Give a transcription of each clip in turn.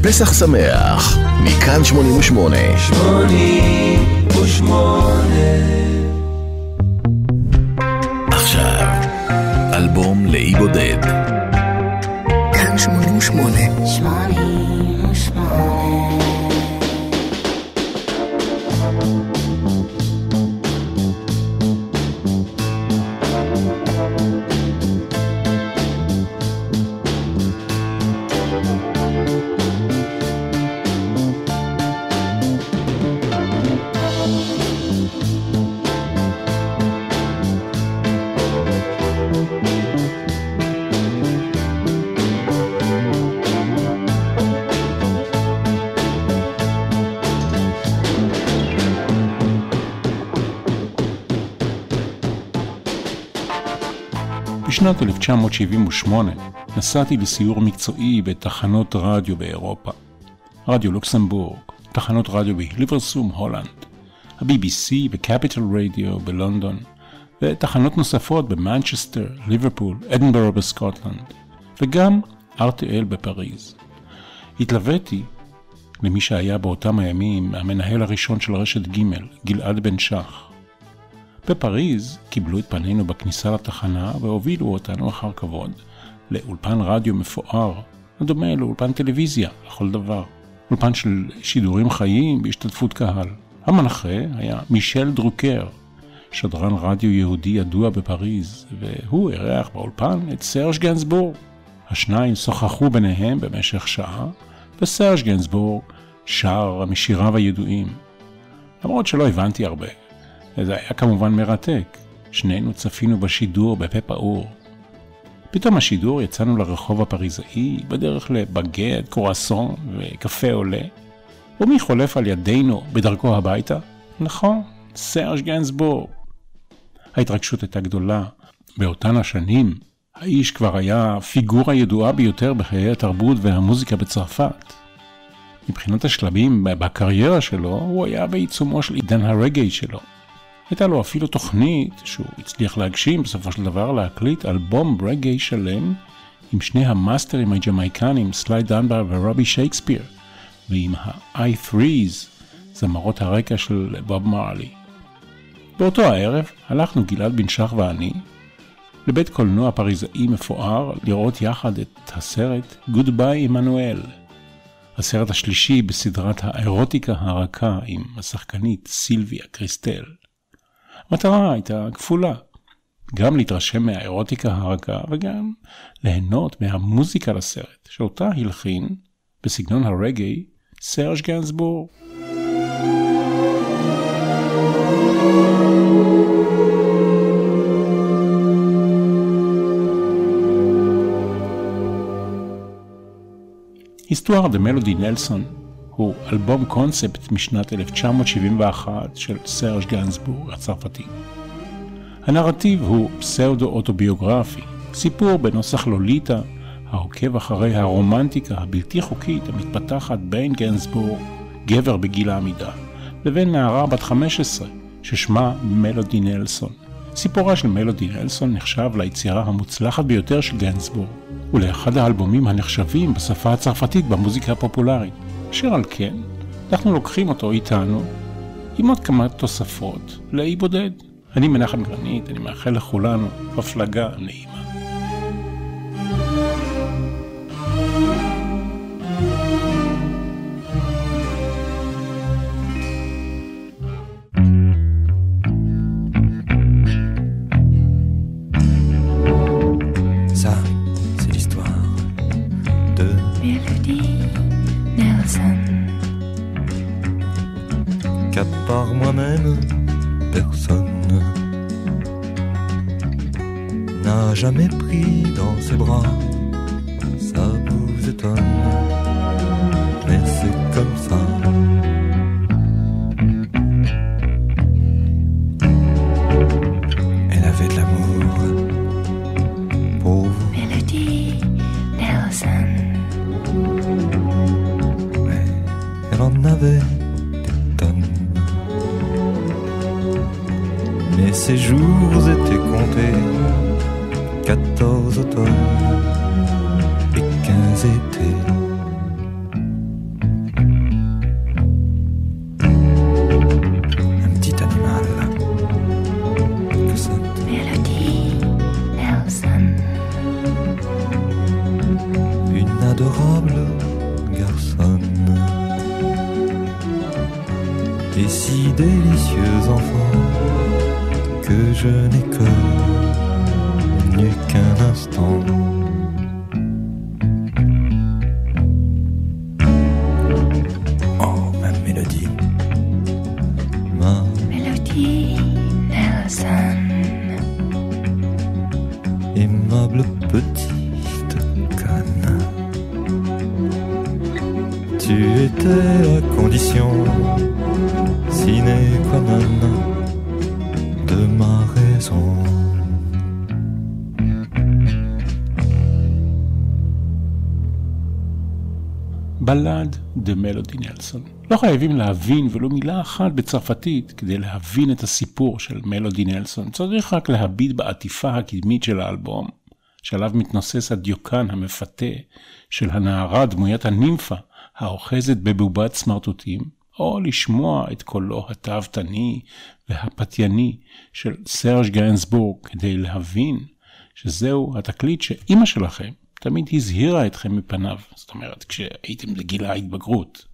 פסח שמח, מכאן 88. 88. עכשיו, אלבום לאי בודד. כאן 88. 88. בשנת 1978 נסעתי לסיור מקצועי בתחנות רדיו באירופה. רדיו לוקסמבורג, תחנות רדיו בהיליברסום, הולנד, ה-BBC וקפיטל רדיו בלונדון, ותחנות נוספות במנצ'סטר, ליברפול, אדינברו בסקוטלנד, וגם RTL בפריז. התלוויתי למי שהיה באותם הימים המנהל הראשון של רשת ג', גלעד בן שח. בפריז קיבלו את פנינו בכניסה לתחנה והובילו אותנו אחר כבוד לאולפן רדיו מפואר, הדומה לאולפן טלוויזיה לכל דבר. אולפן של שידורים חיים בהשתתפות קהל. המנחה היה מישל דרוקר, שדרן רדיו יהודי ידוע בפריז, והוא אירח באולפן את סרג' גנסבורג. השניים שוחחו ביניהם במשך שעה, וסרג' גנסבורג שר משיריו הידועים. למרות שלא הבנתי הרבה. זה היה כמובן מרתק. שנינו צפינו בשידור בפה פעור. פתאום השידור יצאנו לרחוב הפריזאי, בדרך לבגט, קרואסון וקפה עולה. ומי חולף על ידינו בדרכו הביתה? נכון, סרג' גנסבורג. ההתרגשות הייתה גדולה. באותן השנים, האיש כבר היה פיגורה ידועה ביותר בחיי התרבות והמוזיקה בצרפת. מבחינת השלבים בקריירה שלו, הוא היה בעיצומו של עידן הרגעי שלו. הייתה לו אפילו תוכנית שהוא הצליח להגשים בסופו של דבר להקליט אלבום רגעי שלם עם שני המאסטרים הג'מייקנים סליי דנבר ורובי שייקספיר ועם ה-I3s, זמרות הרקע של בוב מרלי. באותו הערב הלכנו גלעד בן שח ואני לבית קולנוע פריזאי מפואר לראות יחד את הסרט Goodbye Emmanuel, הסרט השלישי בסדרת האירוטיקה הרכה עם השחקנית סילביה קריסטל. המטרה הייתה כפולה, גם להתרשם מהאירוטיקה הרכה וגם ליהנות מהמוזיקה לסרט, שאותה הלחין בסגנון הרגעי סרג' גנסבורג. היסטואר דה מלודי נלסון הוא אלבום קונספט משנת 1971 של סרג' גנסבורג הצרפתי. הנרטיב הוא פסאודו-אוטוביוגרפי, סיפור בנוסח לוליטה העוקב אחרי הרומנטיקה הבלתי חוקית המתפתחת בין גנסבורג, גבר בגיל העמידה, לבין נערה בת 15 ששמה מלודי נלסון. סיפורה של מלודי נלסון נחשב ליצירה המוצלחת ביותר של גנסבורג, ולאחד האלבומים הנחשבים בשפה הצרפתית במוזיקה הפופולרית. אשר על כן, אנחנו לוקחים אותו איתנו עם עוד כמה תוספות לאי בודד. אני מנחם גרנית, אני מאחל לכולנו הפלגה נעימה. Par moi-même, personne n'a jamais pris dans ses bras. Ça vous étonne, mais c'est comme ça. Elle avait de l'amour pour vous. Melody Nelson. Mais elle en avait des tonnes. Mais ses jours étaient comptés, 14 automnes et 15 étés. adorable garçonne, et si délicieux enfant que je n'ai connu qu'un instant. Oh, ma mélodie, ma Mélodie Nelson. Aimable petite conne, tu étais la condition sine qua non de ma raison. בלד דה מלודי נלסון. לא חייבים להבין ולא מילה אחת בצרפתית כדי להבין את הסיפור של מלודי נלסון. צריך רק להביט בעטיפה הקדמית של האלבום, שעליו מתנוסס הדיוקן המפתה של הנערה דמוית הנימפה האוחזת בבובת סמרטוטים, או לשמוע את קולו התאוותני והפתייני של סרג' גיינסבורג כדי להבין שזהו התקליט שאימא שלכם תמיד הזהירה אתכם מפניו, זאת אומרת, כשהייתם בגיל ההתבגרות.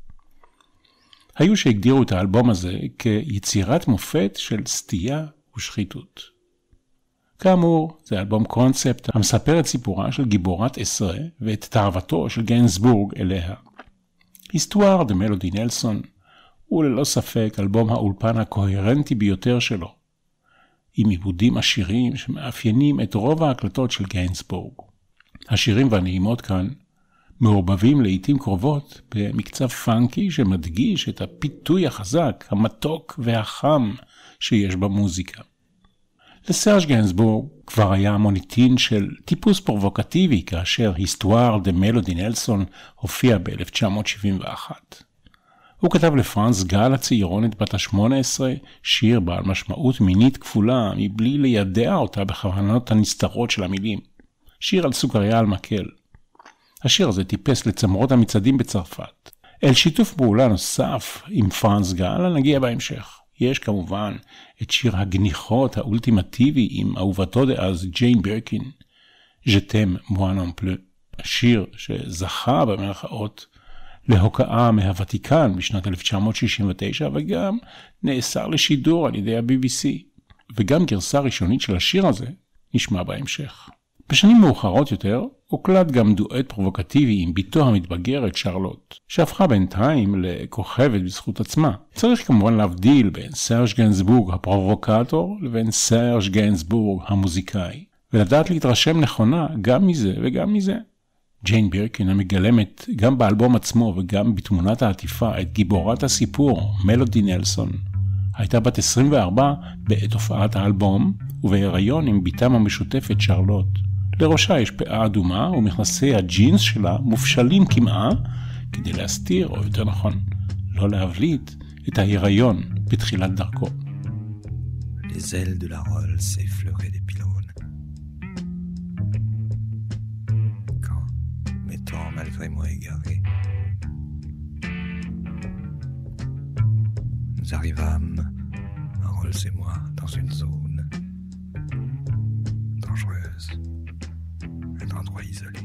היו שהגדירו את האלבום הזה כיצירת מופת של סטייה ושחיתות. כאמור, זה אלבום קונספט המספר את סיפורה של גיבורת עשרה ואת תאוותו של גיינסבורג אליה. היסטואר דה מלודי נלסון הוא ללא ספק אלבום האולפן הקוהרנטי ביותר שלו, עם עיבודים עשירים שמאפיינים את רוב ההקלטות של גיינסבורג. השירים והנעימות כאן מעורבבים לעתים קרובות במקצב פאנקי שמדגיש את הפיתוי החזק, המתוק והחם שיש במוזיקה. לסרג' גיינסבורג כבר היה מוניטין של טיפוס פרובוקטיבי כאשר היסטואר דה מלודי נלסון הופיע ב-1971. הוא כתב לפרנס גל הצעירונת בת ה-18 שיר בעל משמעות מינית כפולה מבלי לידע אותה בכוונות הנסתרות של המילים. שיר על סוכריה על מקל. השיר הזה טיפס לצמרות המצעדים בצרפת. אל שיתוף פעולה נוסף עם פרנס גל נגיע בהמשך. יש כמובן את שיר הגניחות האולטימטיבי עם אהובתו דאז ג'יין בירקין, Je t'aime moi non plus. השיר שזכה במרכאות להוקעה מהוותיקן בשנת 1969 וגם נאסר לשידור על ידי ה-BBC. וגם גרסה ראשונית של השיר הזה נשמע בהמשך. בשנים מאוחרות יותר הוקלט גם דואט פרובוקטיבי עם ביתו המתבגרת שרלוט, שהפכה בינתיים לכוכבת בזכות עצמה. צריך כמובן להבדיל בין סרג' גיינסבורג הפרובוקטור לבין סרג' גיינסבורג המוזיקאי, ולדעת להתרשם נכונה גם מזה וגם מזה. ג'יין בירקין המגלמת גם באלבום עצמו וגם בתמונת העטיפה את גיבורת הסיפור מלודי נלסון, הייתה בת 24 בעת הופעת האלבום ובהיריון עם ביתם המשותפת שרלוט. לראשה יש פאה אדומה ומכנסי הג'ינס שלה מופשלים כמעה כדי להסתיר, או יותר נכון, לא להבליט, את ההיריון בתחילת דרכו. Les ailes de la Rolle s'effleuraient des pylônes. Quand, m'étant malgré moi égaré, nous arrivâmes, Rolls et moi, dans une zone dangereuse, un endroit isolé.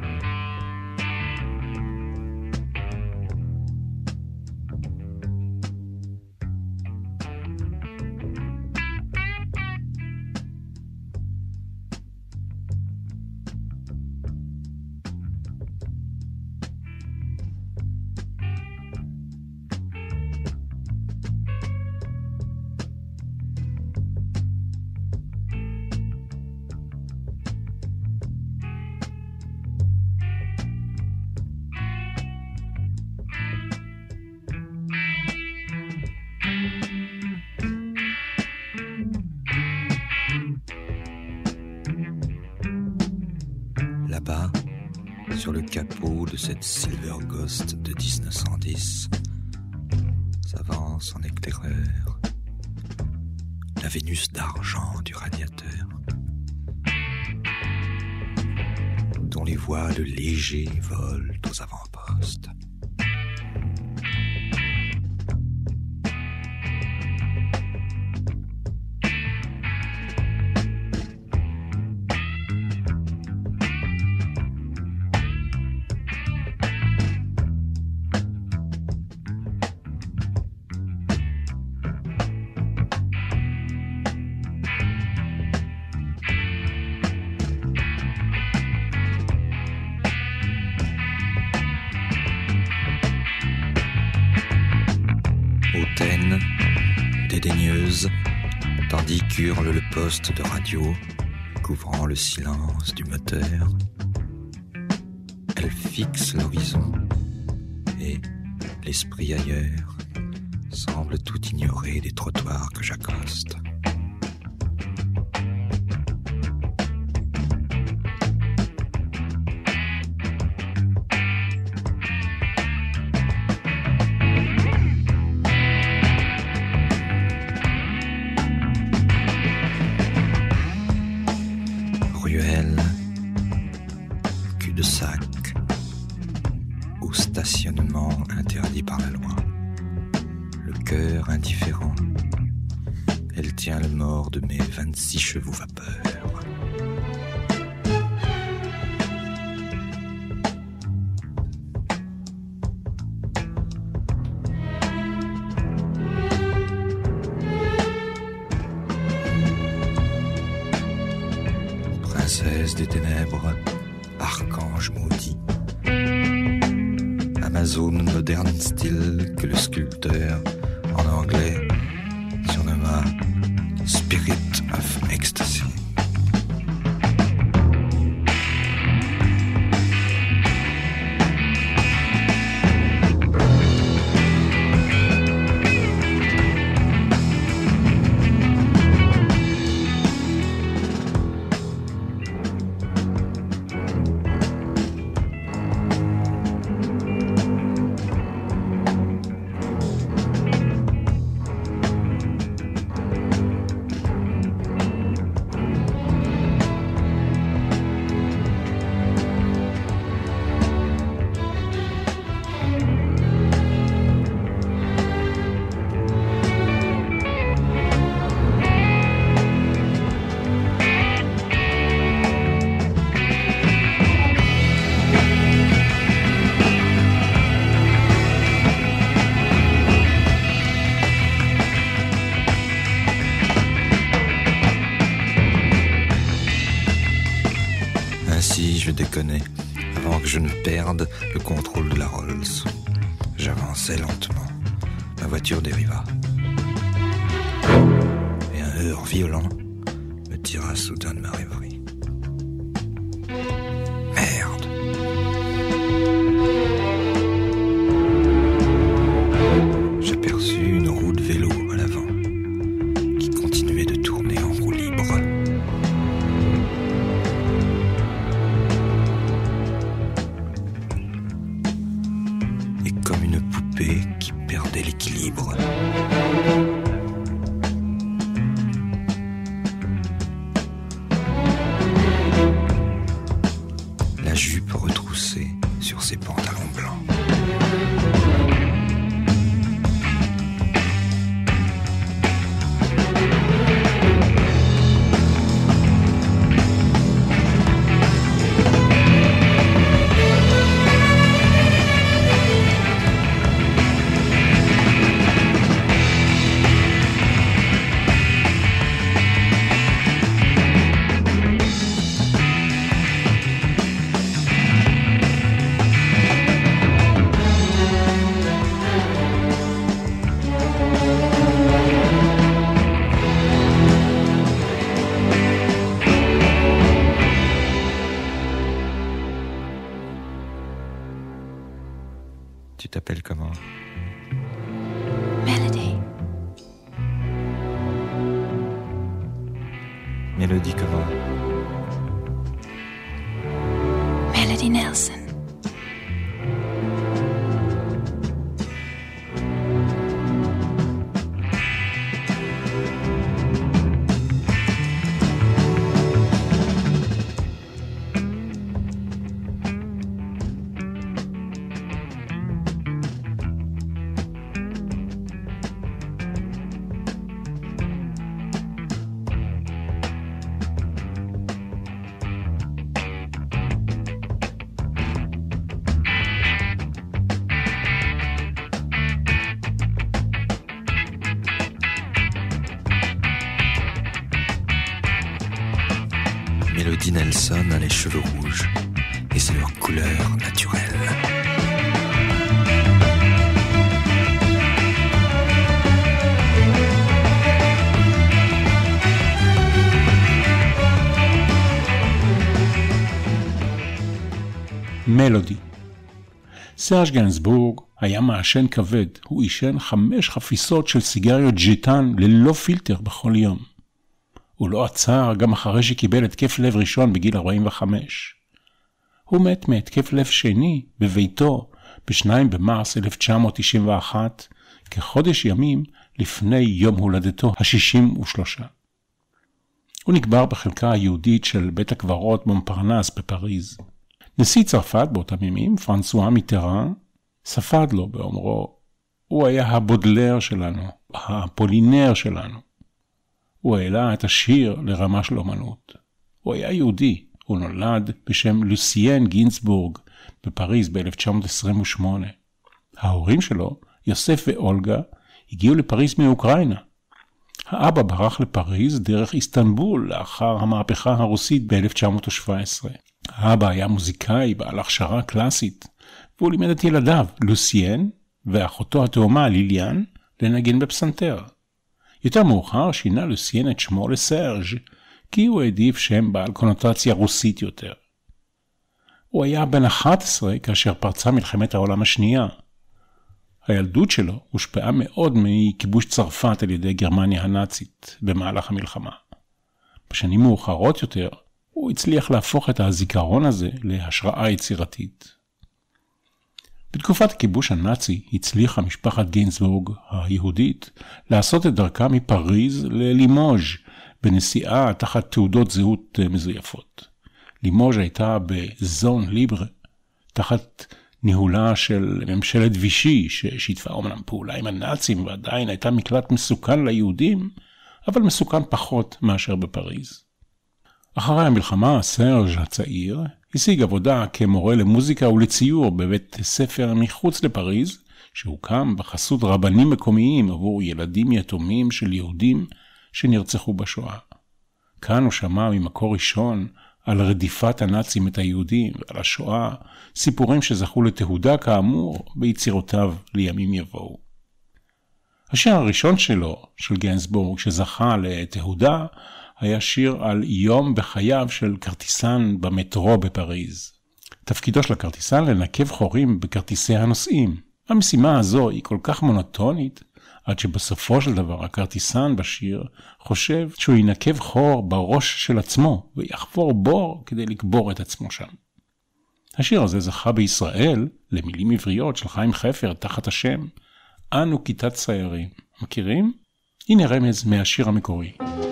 Là-bas, sur le capot de cette Silver Ghost de 1910, s'avance en éclaireur la Vénus d'argent du radiateur, dont les voiles légers volent aux avant-postes. hautaine, dédaigneuse, tandis qu'hurle le poste de radio, couvrant le silence du moteur. Elle fixe l'horizon et, l'esprit ailleurs, semble tout ignorer des trottoirs que j'accoste. Ruelle, cul-de-sac ou stationnement interdit par la loi. Le cœur indifférent, elle tient le mort de mes 26 chevaux vapeur. Princesse des ténèbres, archange maudit, Amazone moderne style que le sculpteur, en anglais, surnomma Spirit of Ecstasy. Ainsi, je déconnais, avant que je ne perde le contrôle de la Rolls. J'avançais lentement. Ma voiture dériva. Et un heurt violent me tira soudain de ma rêverie. Merde! J'aperçus une roue de vélo à l'avant, qui continuait de tourner en roue libre. Et comme une poupée qui perdait l'équilibre. La jupe retroussée sur ses pantalons blancs. Tu t'appelles comment? Melody. Mélodie comment? Melody Nelson. Mélodie Nelson a les cheveux rouges et c'est leur couleur naturelle. מלודי. סרג' גנסבורג היה מעשן כבד, הוא עישן 5 חפיסות של סיגריות ג'יטן ללא פילטר בכל יום. הוא לא עצר גם אחרי שקיבל התקף לב ראשון בגיל 45. הוא מת מהתקף לב שני בביתו ב-2 במרס 1991, כחודש ימים לפני יום הולדתו ה-63. הוא נקבר בחלקה היהודית של בית הקברות מונפרנס בפריז. נשיא צרפת באותם ימים, פרנסואה מיטראן, ספד לו באומרו, הוא היה הבודלר שלנו, הפולינר שלנו. הוא העלה את השיר לרמה של אומנות. הוא היה יהודי, הוא נולד בשם לוסיין גינסבורג בפריז ב-1928. ההורים שלו, יוסף ואולגה, הגיעו לפריז מאוקראינה. האבא ברח לפריז דרך איסטנבול לאחר המהפכה הרוסית ב-1917. האבא היה מוזיקאי בעל הכשרה קלאסית, והוא לימד את ילדיו, לוסיין ואחותו התאומה ליליאן, לנגן בפסנתר. יותר מאוחר שינה לוסיין את שמו לסרג', כי הוא העדיף שם בעל קונוטציה רוסית יותר. הוא היה בן 11 כאשר פרצה מלחמת העולם השנייה. הילדות שלו הושפעה מאוד מכיבוש צרפת על ידי גרמניה הנאצית במהלך המלחמה. בשנים מאוחרות יותר, הוא הצליח להפוך את הזיכרון הזה להשראה יצירתית. בתקופת הכיבוש הנאצי הצליחה משפחת גינסבורג היהודית לעשות את דרכה מפריז ללימוז' בנסיעה תחת תעודות זהות מזויפות. לימוז' הייתה בזון ליבר, תחת ניהולה של ממשלת וישי, ששיתפה אומנם פעולה עם הנאצים ועדיין הייתה מקלט מסוכן ליהודים, אבל מסוכן פחות מאשר בפריז. אחרי המלחמה, סרג' הצעיר השיג עבודה כמורה למוזיקה ולציור בבית ספר מחוץ לפריז, שהוקם בחסות רבנים מקומיים עבור ילדים יתומים של יהודים שנרצחו בשואה. כאן הוא שמע ממקור ראשון על רדיפת הנאצים את היהודים ועל השואה, סיפורים שזכו לתהודה כאמור ביצירותיו לימים יבואו. השיר הראשון שלו, של גנסבורג, שזכה לתהודה, היה שיר על יום בחייו של כרטיסן במטרו בפריז. תפקידו של הכרטיסן לנקב חורים בכרטיסי הנוסעים. המשימה הזו היא כל כך מונוטונית, עד שבסופו של דבר הכרטיסן בשיר חושב שהוא ינקב חור בראש של עצמו, ויחפור בור כדי לקבור את עצמו שם. השיר הזה זכה בישראל למילים עבריות של חיים חפר תחת השם אנו כיתת ציירים. מכירים? הנה רמז מהשיר המקורי.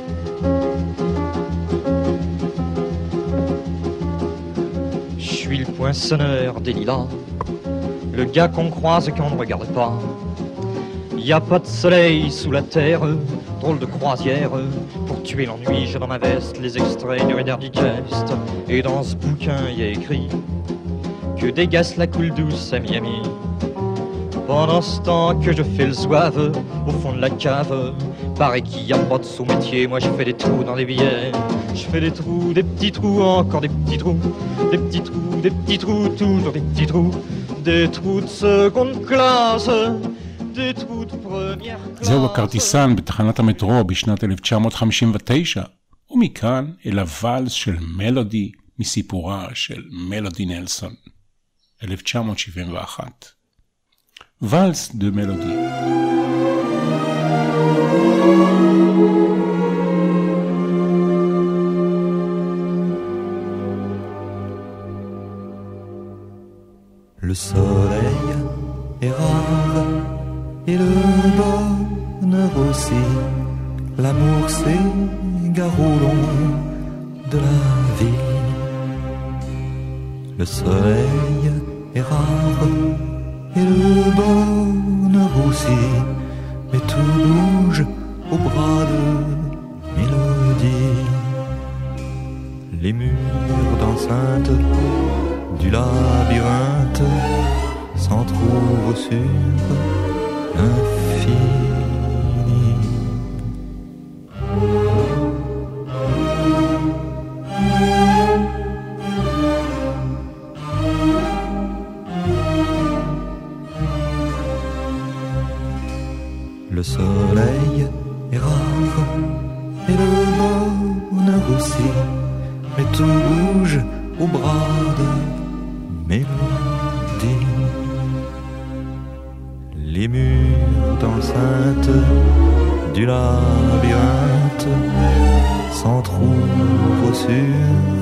Je suis le poinçonneur des lilas, le gars qu'on croise et qu'on ne regarde pas. Y a pas de soleil sous la terre, drôle de croisière. Pour tuer l'ennui, j'ai dans ma veste les extraits du Reader Digest. Et dans ce bouquin, y a écrit que dégasse la coule douce à Miami. Pendant ce temps que je fais le zouave au fond de la cave, paraît qu'il y a pas de sous-métier. Moi je fais des trous dans les billets. Je fais des trous, des petits trous, encore des petits trous. Des petits trous, des petits trous, toujours des petits trous. Des trous de seconde classe. זהו הכרטיסן בתחנת המטרו בשנת 1959, ומכאן אל הוואלס של מלודי מסיפורה של מלודי נלסון, 1971. ואלס דה מלודי. Le soleil est rare et le bonheur aussi. L'amour s'égare au long de la vie. Le soleil est rare et le bonheur aussi. Mais tout bouge au bras de mélodie. Les murs d'enceinte du labyrinthe s'entrouvent sur l'infini. Le soleil est rare et le bonheur aussi, mais tout bouge au bras de mélodie. Les murs d'enceinte du labyrinthe s'entr'ouvrent sur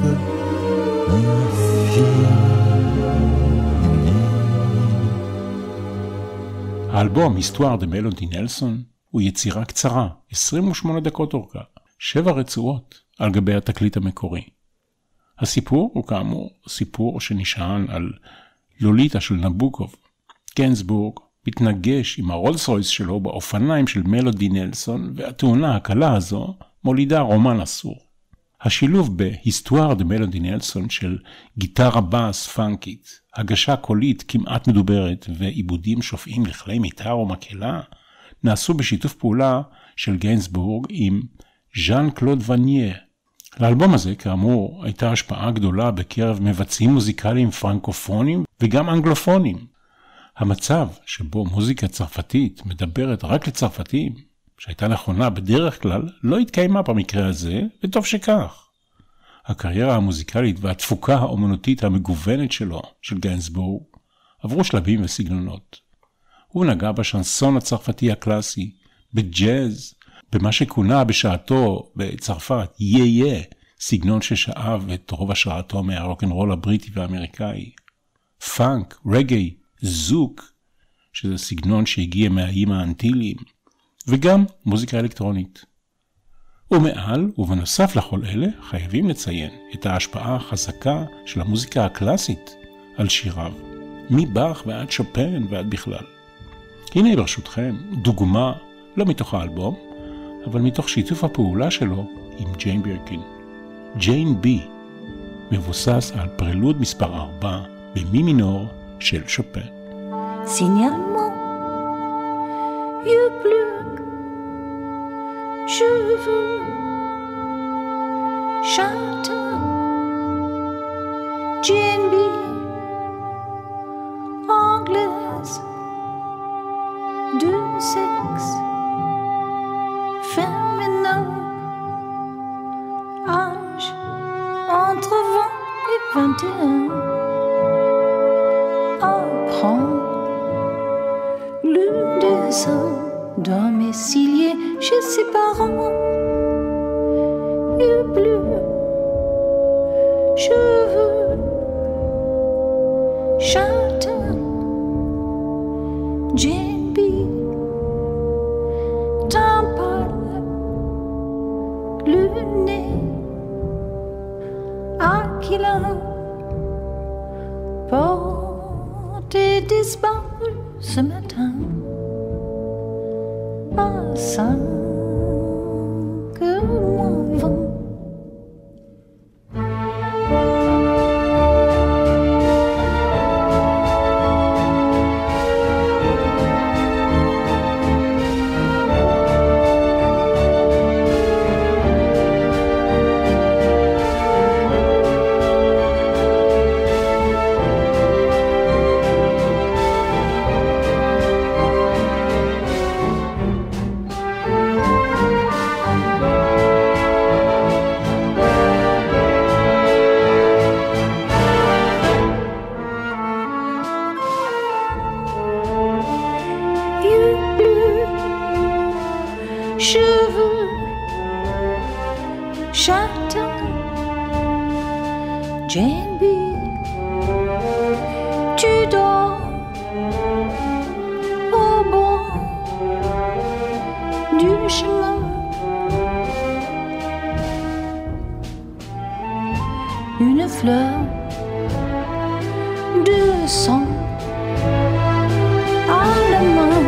האלבום היסטואר דה מלודי נלסון הוא יצירה קצרה, 28 דקות אורכה, 7 רצועות על גבי התקליט המקורי. הסיפור הוא כאמור סיפור שנשען על לוליטה של נבוקוב. גנסבורג מתנגש עם הרולס רויס שלו באופניים של מלודי נלסון, והתאונה הקלה הזו מולידה רומן אסור. השילוב בהיסטואר דה מלודי נלסון של גיטרה בס פאנקית, הגשה קולית כמעט מדוברת ועיבודים שופעים לכלי מיתר או מקהלה, נעשו בשיתוף פעולה של גיינסבורג עם ז'אן קלוד וניה. לאלבום הזה כאמור הייתה השפעה גדולה בקרב מבצעים מוזיקליים פרנקופונים וגם אנגלופונים. המצב שבו מוזיקה צרפתית מדברת רק לצרפתים, שהייתה נכונה בדרך כלל, לא התקיימה במקרה הזה, וטוב שכך. הקריירה המוזיקלית והתפוקה האומנותית המגוונת שלו, של גיינסבורג, עברו שלבים וסגנונות. הוא נגע בשנסון הצרפתי הקלאסי, בג'אז, במה שכונה בשעתו בצרפת יה, סגנון ששאב את רוב השראתו מהרוק'נ'רול הבריטי והאמריקאי. פאנק, רגעי, זוק, שזה סגנון שהגיע מהאיים האנטיליים, וגם מוזיקה אלקטרונית. ומעל ובנוסף לכל אלה חייבים לציין את ההשפעה החזקה של המוזיקה הקלאסית על שיריו, מבאך ועד שופן ועד בכלל. הנה ברשותכם דוגמה, לא מתוך האלבום, אבל מתוך שיתוף הפעולה שלו עם ג'יין בירקין. ג'יין בי מבוסס על פרלוד מספר 4 במי מינור של שופן. Signalement, yeux bleus, cheveux châtain, Jane B, anglaise, de sexe féminin, âge entre 20 et 21, apprend le dessin domicilié chez ses parents. Yeux bleus, cheveux châtain, Jane B, teint pâle, le nez aquilin, porté disparu ce matin. À 5 moins 20. Cheveux châtain, Jane B, tu dors au bord du chemin. Une fleur de sang à la main.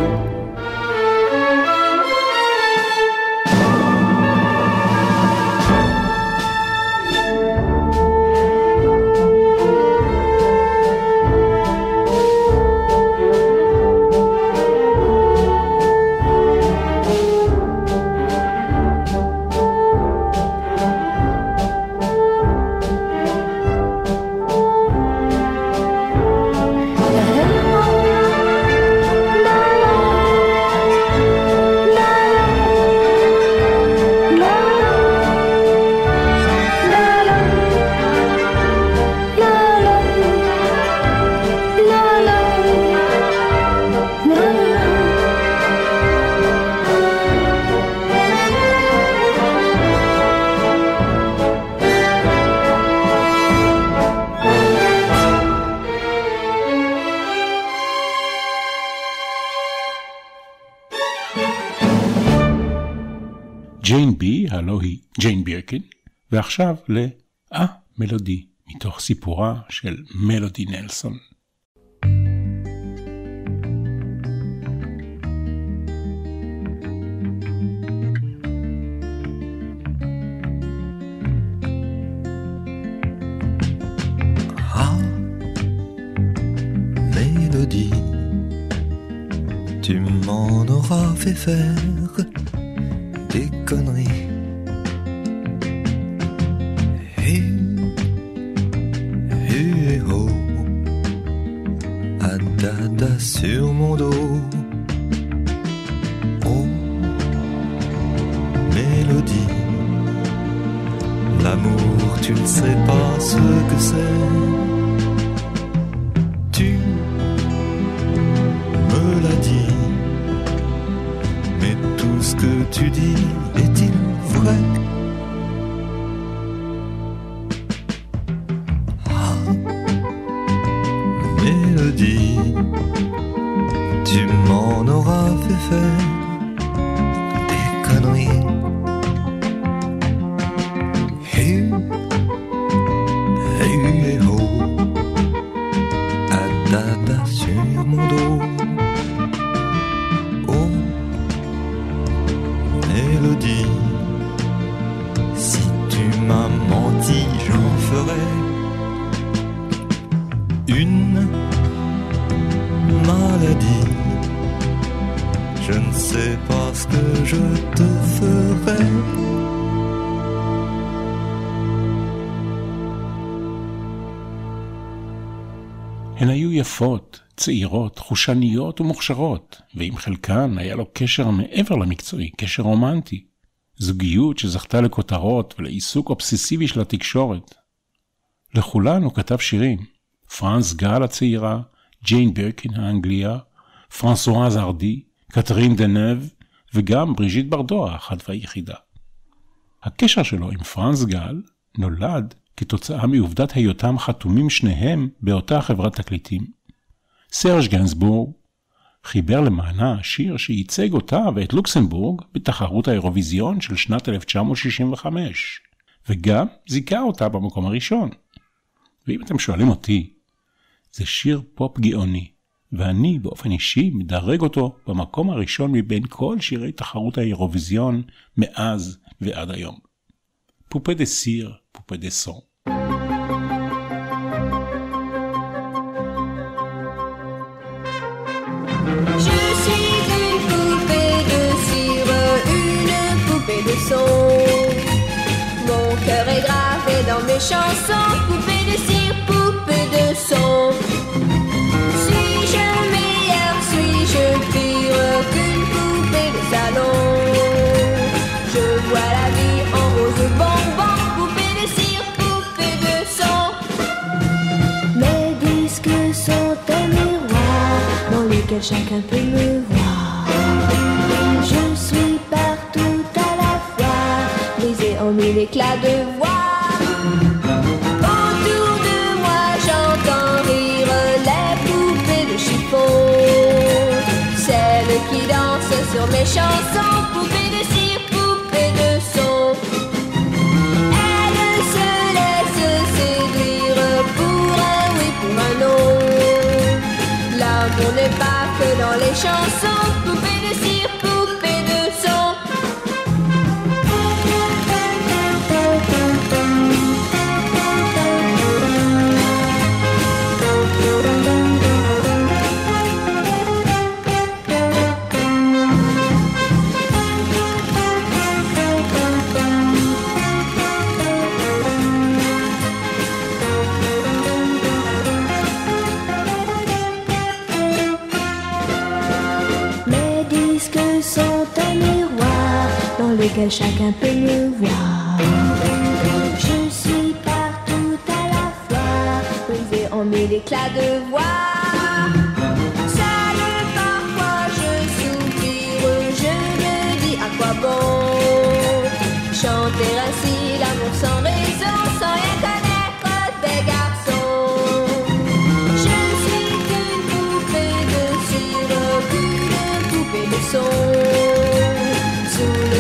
ג'יין בי, הלוא היא ג'יין בירקין, ועכשיו מלודי, מתוך סיפורה של מלודי נלסון. Tu m'en auras fait faire des conneries. Et oh, à dada sur mon dos. Oh, mélodie, l'amour, tu ne sais pas ce que c'est. Tu me l'as dit. Tout ce que tu dis est-il vrai? Ah, mélodie, tu m'en auras fait faire des conneries. Hey, oh, à dada sur mon dos. Mélodie, si tu m'as menti, j'en ferai une maladie. Je ne sais pas ce que je te ferai. הן היו יפות, צעירות, חושניות ומוכשרות, ועם חלקן היה לו קשר מעבר למקצועי, קשר רומנטי. זוגיות שזכתה לכותרות ולעיסוק אובססיבי של התקשורת. לכולן הוא כתב שירים. פרנס גל הצעירה, ג'יין בירקין האנגליה, פרנסואז ארדי, קטרין דנב, וגם בריז'יט ברדו האחת והיחידה. הקשר שלו עם פרנס גל נולד כתוצאה מעובדת היותם חתומים שניהם באותה חברת תקליטים. סרג' גנסבורג חיבר למענה שיר שייצג אותה ואת לוקסמבורג בתחרות האירוויזיון של שנת 1965, וגם זיכה אותה במקום הראשון. ואם אתם שואלים אותי, זה שיר פופ גאוני, ואני באופן אישי מדרג אותו במקום הראשון מבין כל שירי תחרות האירוויזיון מאז ועד היום. פופה דה סיר, פופה דה סון. Je suis une poupée de cire, une poupée de son. Mon cœur est gravé dans mes chansons, poupée de cire, poupée de son. Suis-je meilleure, suis-je pire qu'une poupée de salon? Je vois la vie en rose bonbon, poupée de cire, poupée de son. Mes disques sont un miroir dans lequel chacun peut me voir. Je suis partout à la fois, brisé en mille éclats de voix. Autour de moi j'entends rire les poupées de chiffon, celles qui dansent sur mes chansons, poupées de cire, poupées de son. Elles se laissent séduire pour un oui, pour un non. L'amour n'est pas que dans les chansons, poupée de cire, poupée de son. Lequel chacun peut me voir. Je suis partout à la fois, brisé en mille éclats de voix. Seul parfois je soupire, je me dis à quoi bon chanter ainsi l'amour sans raison, sans rien connaître des garçons. Je suis qu'une poupée de cire, qu'une poupée de son. Sous le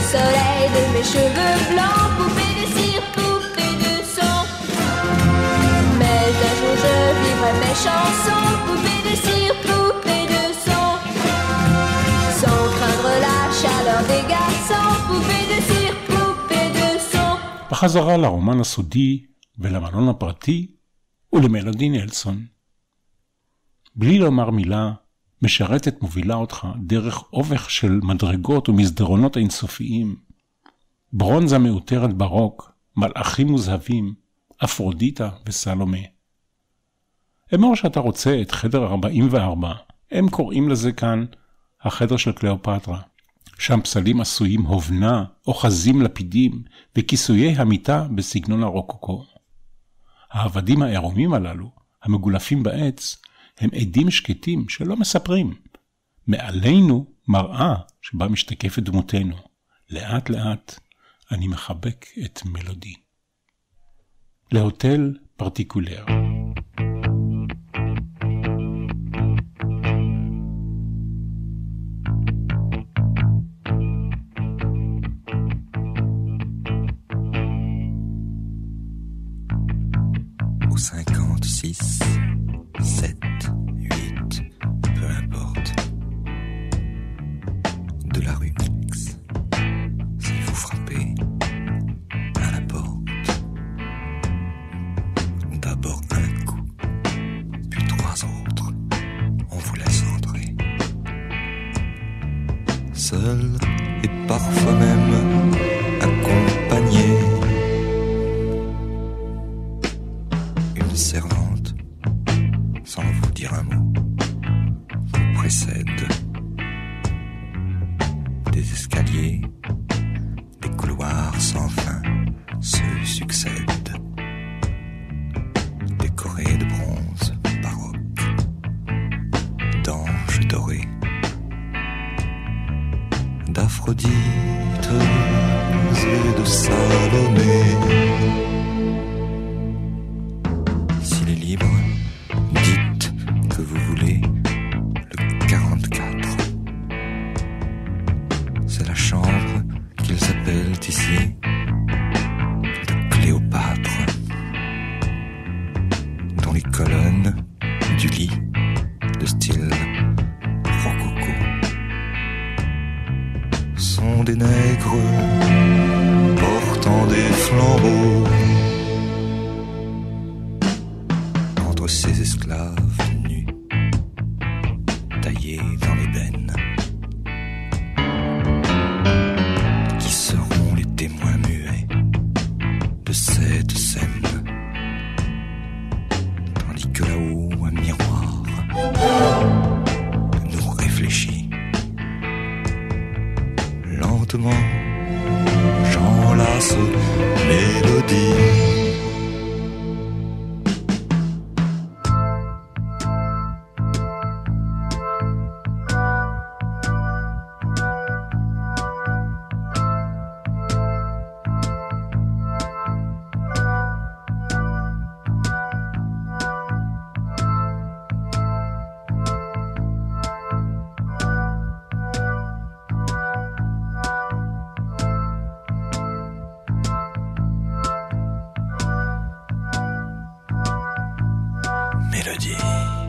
soleil de mes cheveux blancs, poupée de cire, poupée de son. Mais un jour je vivrai mes chansons, poupée de cire, poupée de son. Sans craindre la chaleur des garçons, poupée de cire, poupée de son. בחזרה לרומן הסודי ולמלון הפרטי ולמלודי נלסון. בלי לומר מילה, משרתת מובילה אותך דרך אובך של מדרגות ומסדרונות אינסופיים. ברונזה מאותרת ברוק, מלאכים מוזהבים, אפרודיטה וסלומה. אמור שאתה רוצה את חדר 44, הם קוראים לזה כאן החדר של קליאופטרה. שם פסלים עשויים הובנה, אוחזים לפידים וכיסויי המיטה בסגנון הרוקוקו. העבדים העירומים הללו, המגולפים בעץ, הם עדים שקטים שלא מספרים. מעלינו מראה שבה משתקפת דמותנו. לאט לאט אני מחבק את מלודי. להוטל פרטיקולר. Au 56, 7, 8, peu importe. De la rue X, si vous frappez à la porte, d'abord un coup, puis 3 autres, on vous laisse entrer. Seul et parfois même accompagné. Servante, sans vous dire un mot, vous précède. Des escaliers, des couloirs sans fin se succèdent, décorés de bronze baroque, d'anges dorés, d'Aphrodite et de Salomé. Libre, dites que vous voulez le 44. C'est la chambre qu'ils appellent ici de Cléopâtre, dont les colonnes du lit de style rococo sont des nègres portant des flambeaux. Ces esclaves nus, taillés dans l'ébène, qui seront les témoins muets de cette scène, tandis que là-haut un miroir nous réfléchit. Lentement, j'enlace mélodie. Mélodie.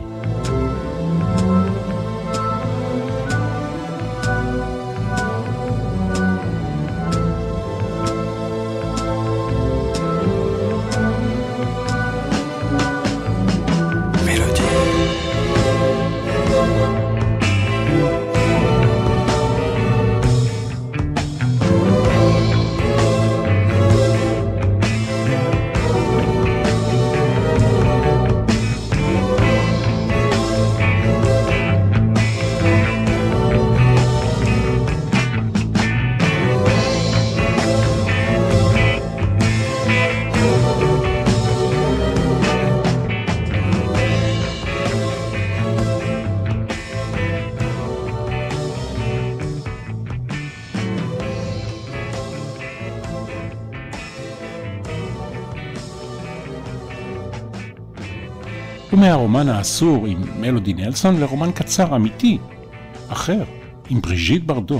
ומהרומן האסור עם מלודי נלסון לרומן קצר אמיתי, אחר, עם בריז'יט ברדו,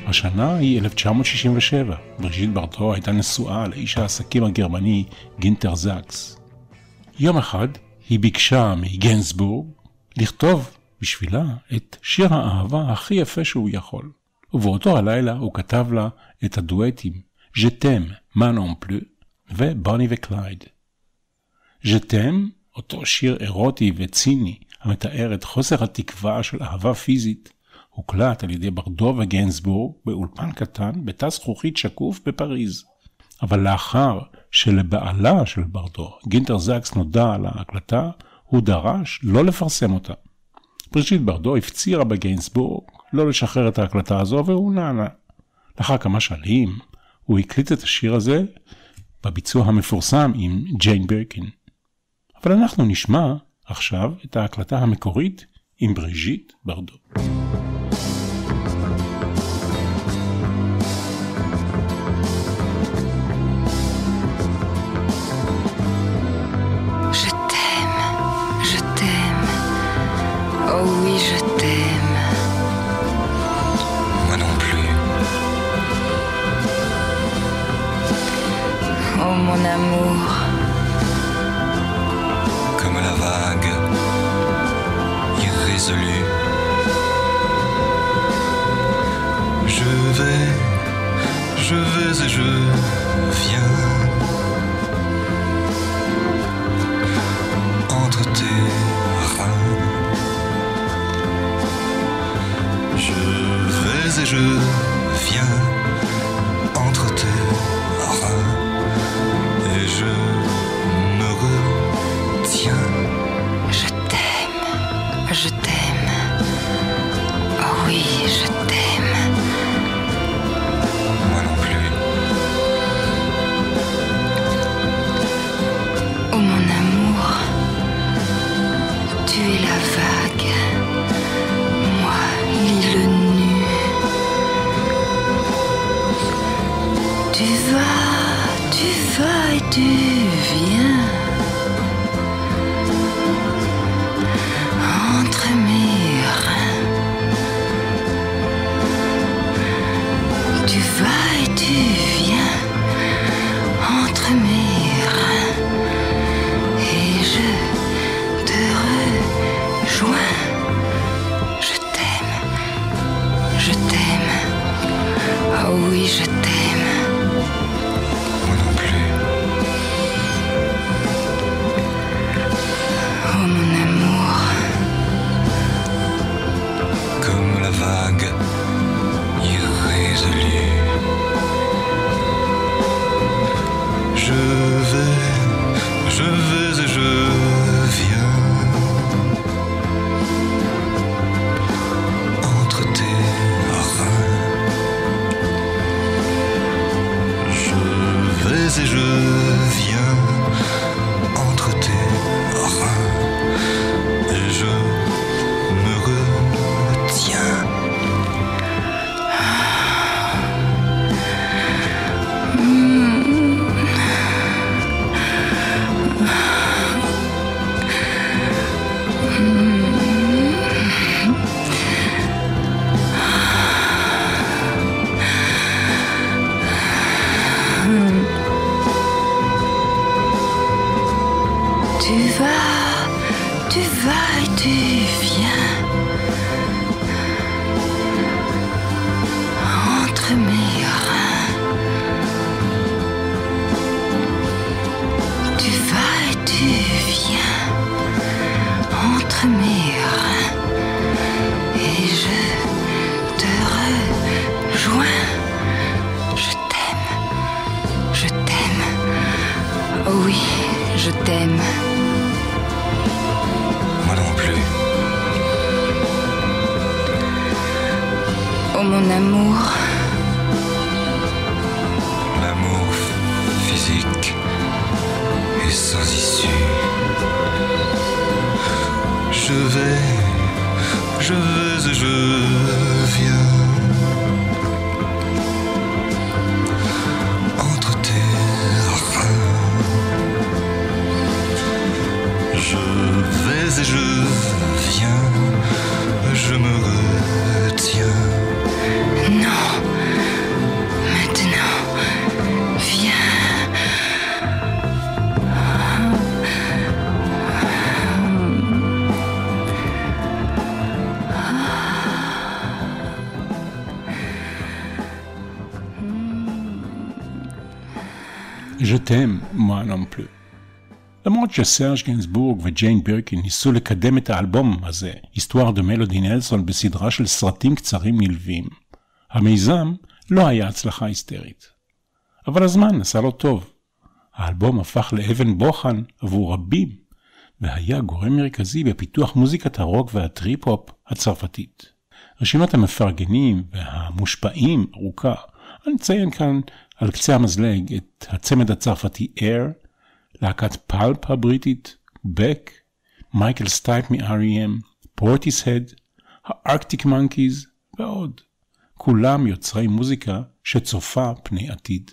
השנה היא 1967. בריז'יט ברדו הייתה נשואה לאיש העסקים הגרמני גינטר זקס. יום אחד היא ביקשה מגנסבורג לכתוב בשבילה את שיר האהבה הכי יפה שהוא יכול. ובאותו הלילה הוא כתב לה את הדואטים Je t'aime, מה non plus ובוני וקלייד. Je t'aime, אותו שיר אירוטי וציני המתאר את חוסר התקווה של אהבה פיזית, הוקלט על ידי ברדו וגנסבורג באולפן קטן בתא זכוכית שקוף בפריז. אבל לאחר שלבעלה של ברדו, גינטר זקס, נודע על ההקלטה, הוא דרש לא לפרסם אותה. בריז'יט ברדו הפצירה בגנסבורג לא לשחרר את ההקלטה הזו, והוא נענה. לאחר כמה שנים הוא הקליט את השיר הזה בביצוע המפורסם עם ג'יין ברקין. אבל אנחנו נשמע עכשיו את ההקלטה המקורית עם בריז'יט ברדו. Oh oui, je t'aime. Moi non plus. Oh mon amour. Comme la vague, irrésolue. Je vais et je viens. Entre tes reins. Je vais et je viens entre tes reins et je me retiens. Je t'aime, oh oui, je t'aime. Moi non plus. Oh mon amour, tu es la vague. L'île nue. Tu vas et tu viens entre mes reins. Tu vas et tu viens entre mes reins et je te rejoins. Oh oui, je t'aime. Moi non plus. Oh mon amour. Comme la vague irrésolue. Je vais et je viens. Entre tes reins. Et je viens entre tes reins et je me retiens. Tu vas et tu viens entre mes reins. Tu vas et tu viens entre mes reins et je te rejoins. Je t'aime, oh oui, je t'aime. Moi non plus. Oh mon amour. L'amour physique est sans issue. Je vais et je viens entre tes reins. Je vais et je viens, je me retiens. Non. Je t'aime, moi non plus. למרות שסרג' גנסבורג וג'יין בירקין ניסו לקדם את האלבום הזה, היסטואר דה מלודי נלסון, בסדרה של סרטים קצרים נלווים, המיזם לא היה הצלחה היסטרית. אבל הזמן עשה לו טוב. האלבום הפך לאבן בוחן עבור רבים, והיה גורם מרכזי בפיתוח מוזיקת הרוק והטריפ-הופ הצרפתית. רשימת המפרגנים והמושפעים ארוכה. אני אציין כאן על קצה המזלג את הצמד הצרפתי Air, להקת פלפ הבריטית, בק, מייקל סטייפ מ-R.E.M, פורטיסהד, הארקטיק מנקיז ועוד. כולם יוצרי מוזיקה שצופה פני עתיד.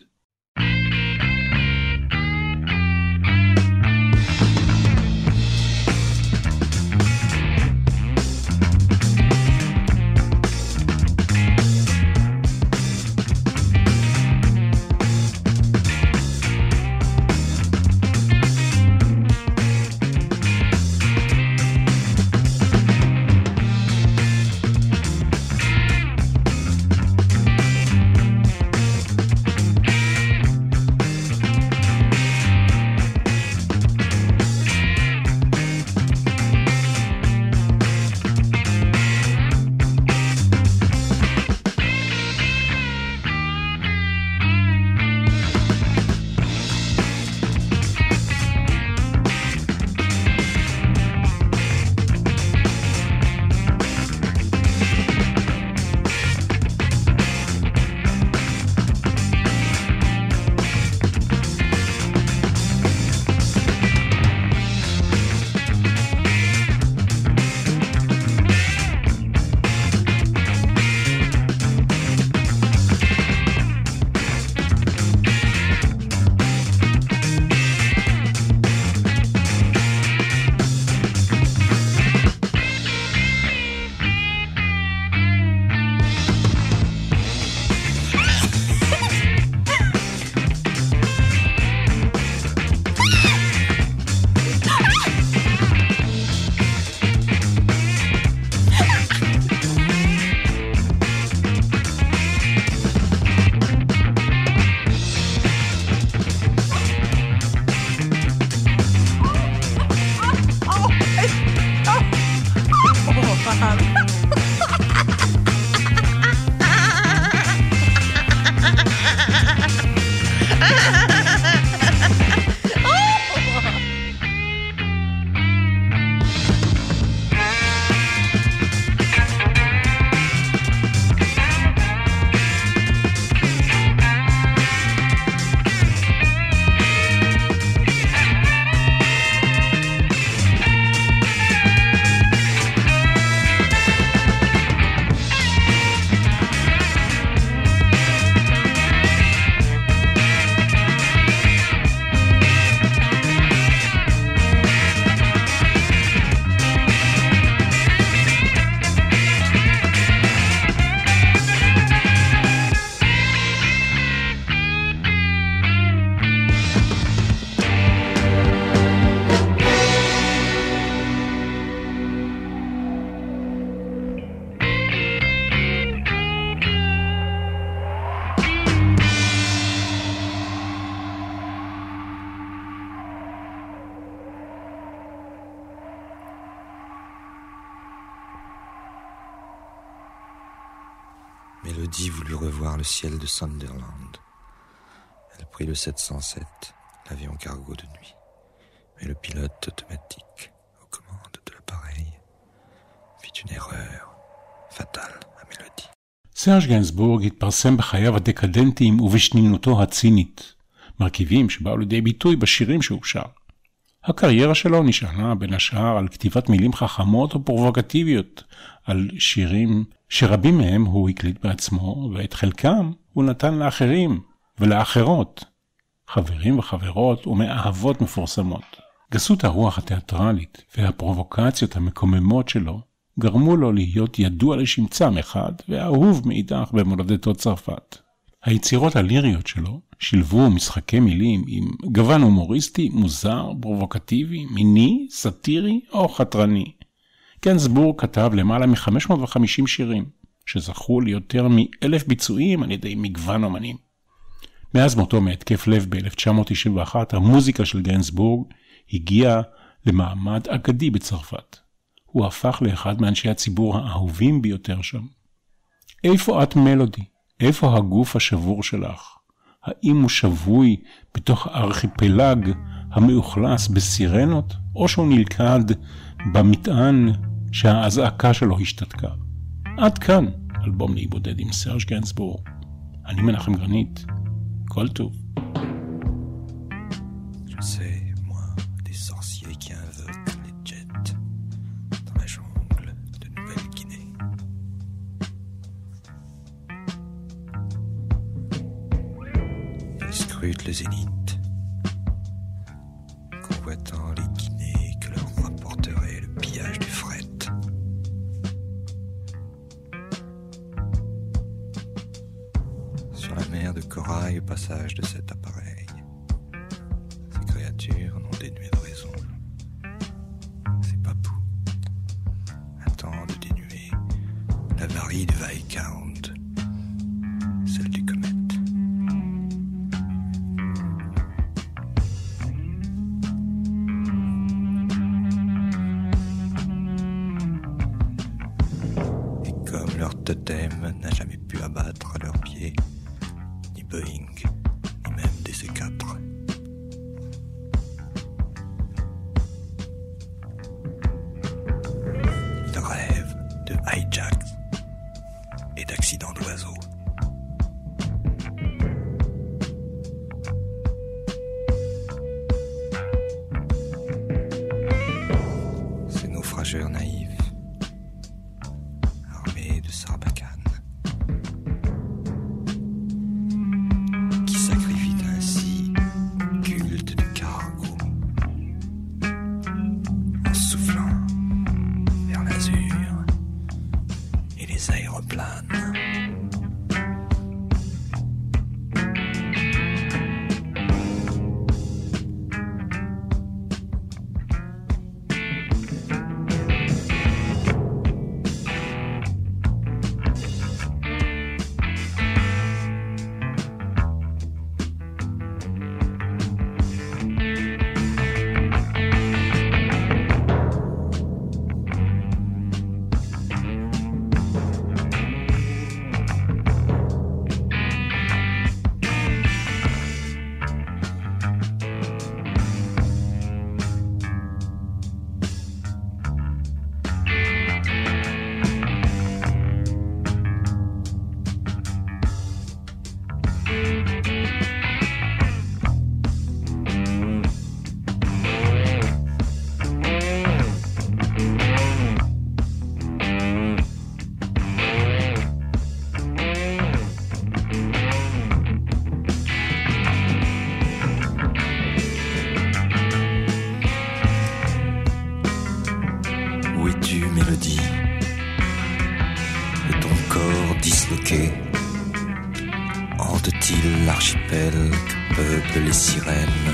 Mélodie voulut revoir le ciel de Sunderland. Elle prit le 707, l'avion cargo de nuit. Mais le pilote automatique, aux commandes de l'appareil, fit une erreur fatale à Mélodie. סרג' גנסבורג התפרסם בחייו הדקדנטיים ובשנינותו הצינית, מרכיבים שבאו לידי ביטוי בשירים שהוא שר. הקריירה שלו נשענה בין השאר על כתיבת מילים חכמות ופרובוקטיביות, על שירים שרבים מהם הוא הקליט בעצמו, ואת חלקם הוא נתן לאחרים ולאחרות, חברים וחברות ומאהבות מפורסמות. גסות הרוח התיאטרלית והפרובוקציות המקוממות שלו גרמו לו להיות ידוע לשמצה מחד ואהוב מאידך במולדתו צרפת. היצירות הליריות שלו שילבו משחקי מילים עם גוון הומוריסטי, מוזר, פרובוקטיבי, מיני, סאטירי או חתרני. גנסבורג כתב למעלה מ-550 שירים, שזכו ליותר מ1,000 ביצועים על ידי מגוון אומנים. מאז מותו מהתקף לב ב-1991, המוזיקה של גיינסבורג הגיעה למעמד אגדי בצרפת. הוא הפך לאחד מאנשי הציבור האהובים ביותר שם. איפה את מלודי? איפה הגוף השבור שלך? האם הוא שבוי בתוך הארכיפלג המאוכלס בסירנות, או שהוא נלכד במטען שההזעקה שלו השתתקה? עד כאן אלבום להיבודד עם סרג' גיינסבורג. אני מנחם גרנית. כל טוב. Je sais, moi, des sorciers qui invoquent les jets dans la jungle de Nouvelle-Guinée. Ils scrutent le zénith, convoitant les Guinées que leur rapporterait le pillage du fret. Sur la mer de corail au passage de cet appareil, ces créatures non dénuées de raison, ces papous attendent de dénuer la varie du Viscount, celle du comète. Et comme leur totem n'a jamais pu abattre à leurs pieds ni Boeing, ni même des C4, ils rêvent de hijacks et d'accidents d'oiseaux. Ces naufrageurs naïfs, armés de sarbacane, qui sacrifient ainsi le culte du cargo en soufflant vers l'azur et les aéroplanes. Où es-tu, mélodie, de ton corps disloqué? Hante-t-il l'archipel que peuplent les sirènes?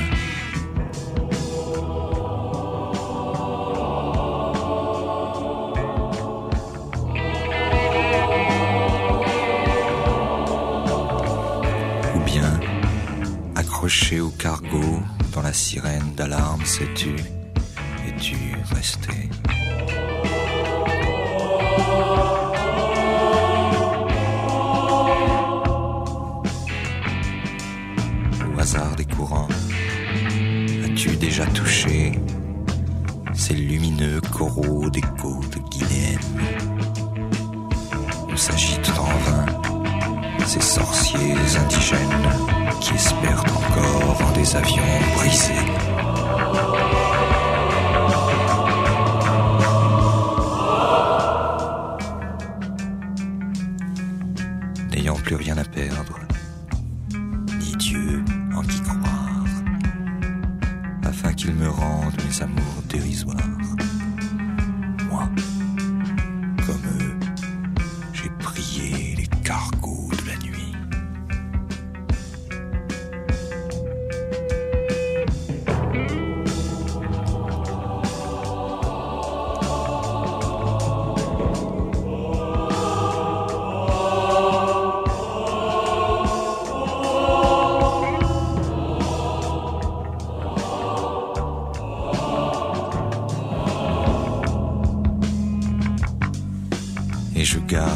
Ou bien, accroché au cargo, dans la sirène d'alarme, sais-tu, es-tu resté? Au hasard des courants, as-tu déjà touché ces lumineux coraux des côtes guinéennes où s'agitent en vain ces sorciers indigènes qui espèrent encore en des avions brisés? N'ayant plus rien à perdre, ni Dieu en qui croire, afin qu'il me rende mes amours dérisoires. Moi, comme eux, j'ai prié les cargos de la nuit.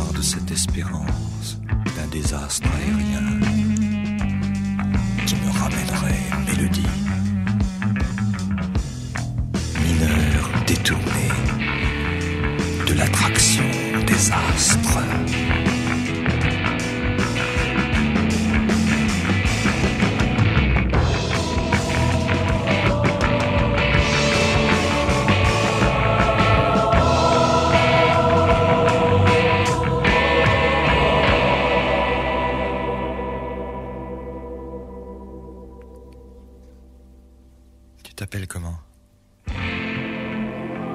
l'espoir de cette espérance d'un désastre aérien qui me ramènerait une mélodie. Mineur détourné de l'attraction des astres. Tu t'appelles comment?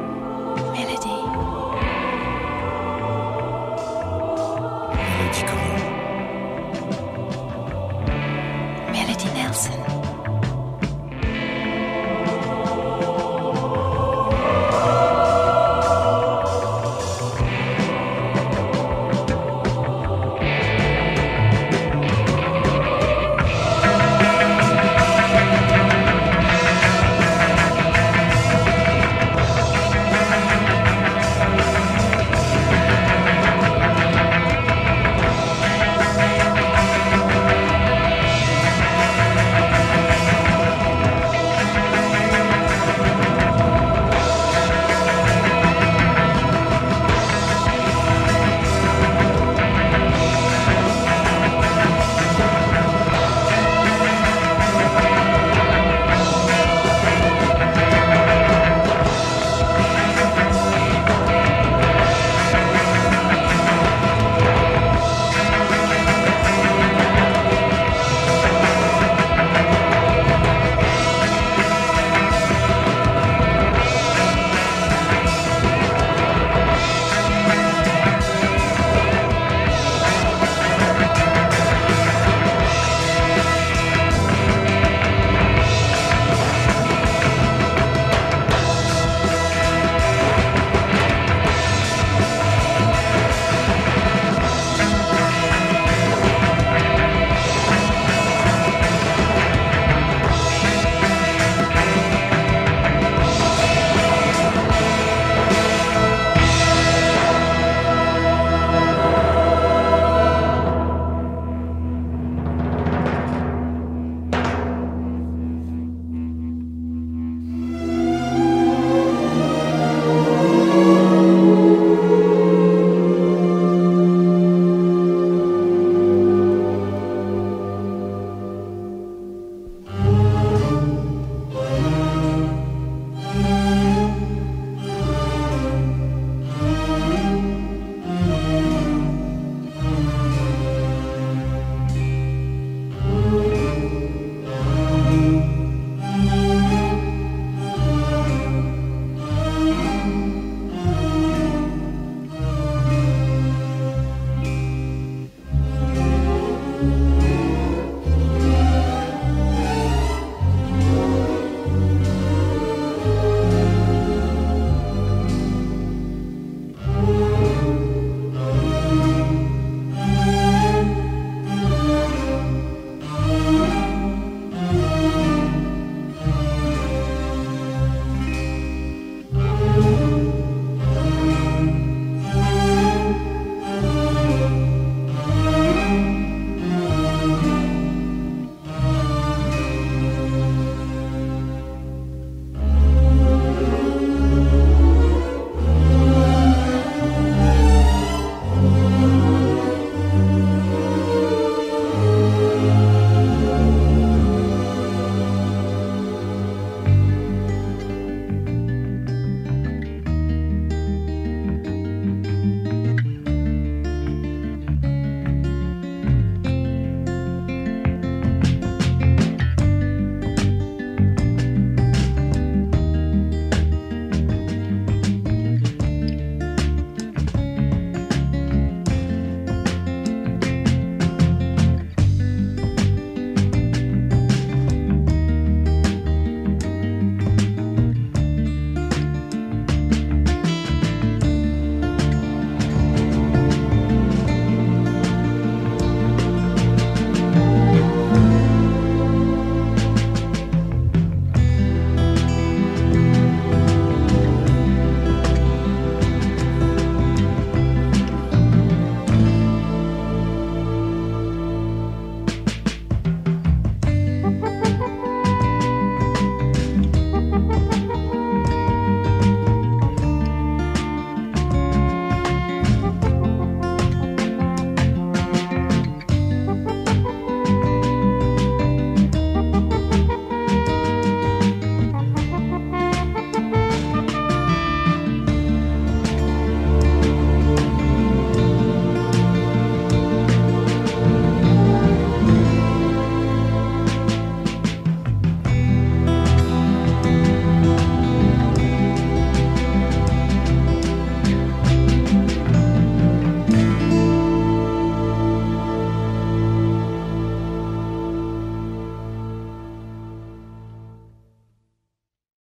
Mélodie. Mélodie comment?